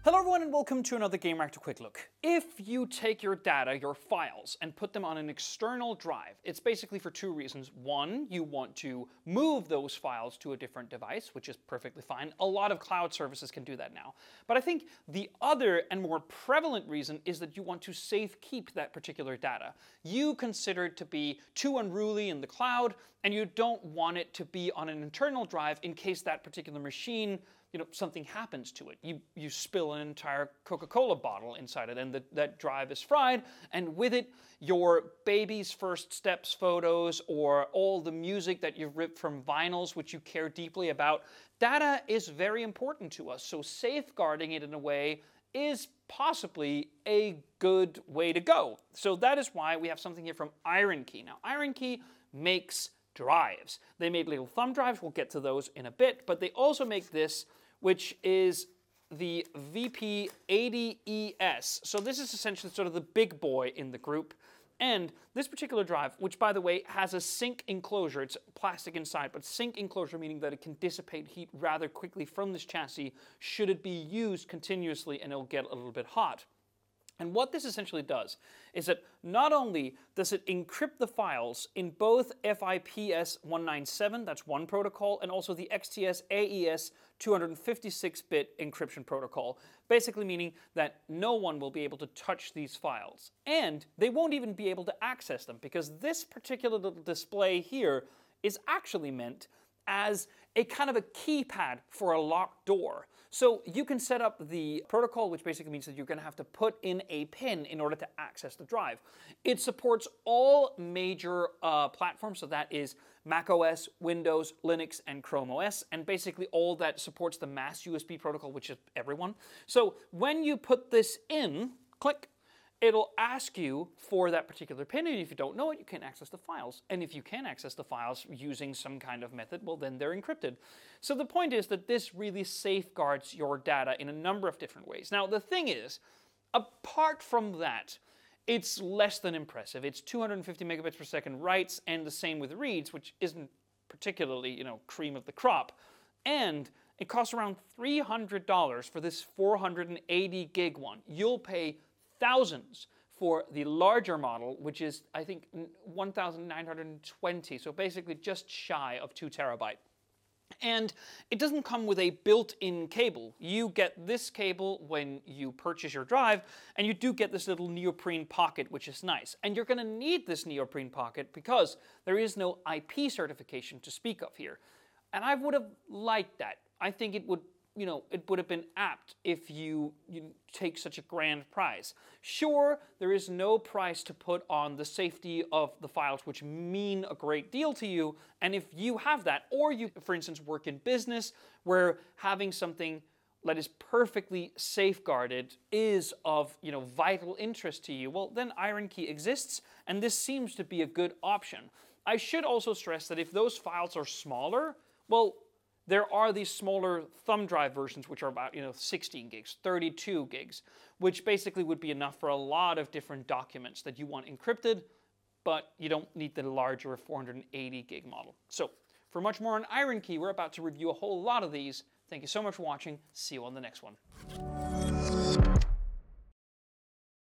Hello everyone and welcome to another Gamereactor Quick Look. If you take your data, your files, and put them on an external drive, it's basically for two reasons. One, you want to move those files to a different device, which is perfectly fine. A lot of cloud services can do that now. But I think the other and more prevalent reason is that you want to safe keep that particular data. You consider it to be too unruly in the cloud, and you don't want it to be on an internal drive in case that particular machine, something happens to it. You spill an entire Coca-Cola bottle inside it and that drive is fried, and with it your baby's first steps photos or all the music that you've ripped from vinyls which you care deeply about. Data is very important to us, so safeguarding it in a way is possibly a good way to go. So that is why we have something here from IronKey. Now IronKey makes drives. They made little thumb drives, we'll get to those in a bit, but they also make this, which is the VP80ES. So this is essentially sort of the big boy in the group. And this particular drive, which by the way has a sink enclosure, it's plastic inside, but sink enclosure meaning that it can dissipate heat rather quickly from this chassis should it be used continuously, and it'll get a little bit hot. And what this essentially does is that not only does it encrypt the files in both FIPS 197, that's one protocol, and also the XTS AES 256-bit encryption protocol, basically meaning that no one will be able to touch these files. And they won't even be able to access them, because this particular little display here is actually meant as a kind of a keypad for a locked door. So you can set up the protocol, which basically means that you're going to have to put in a pin in order to access the drive. It supports all major platforms, so that is Mac OS, Windows, Linux, and Chrome OS, and basically all that supports the mass USB protocol, which is everyone. So when you put this in, click, it'll ask you for that particular pin, and if you don't know it, you can't access the files. And if you can access the files using some kind of method, well, then they're encrypted. So the point is that this really safeguards your data in a number of different ways. Now, the thing is, apart from that, it's less than impressive. It's 250 megabits per second writes, and the same with reads, which isn't particularly, cream of the crop. And it costs around $300 for this 480 gig one. You'll pay thousands for the larger model, which is, I think, 1,920, so basically just shy of 2 terabyte. And it doesn't come with a built-in cable. You get this cable when you purchase your drive, and you do get this little neoprene pocket, which is nice. And you're going to need this neoprene pocket because there is no IP certification to speak of here. And I would have liked that. I think it would have been apt if you take such a grand prize. Sure, there is no price to put on the safety of the files, which mean a great deal to you. And if you have that, or you, for instance, work in business where having something that is perfectly safeguarded is of vital interest to you, well, then IronKey exists, and this seems to be a good option. I should also stress that if those files are smaller, well, there are these smaller thumb drive versions which are about 16 gigs, 32 gigs, which basically would be enough for a lot of different documents that you want encrypted, but you don't need the larger 480 gig model. So for much more on IronKey, we're about to review a whole lot of these. Thank you so much for watching. See you on the next one.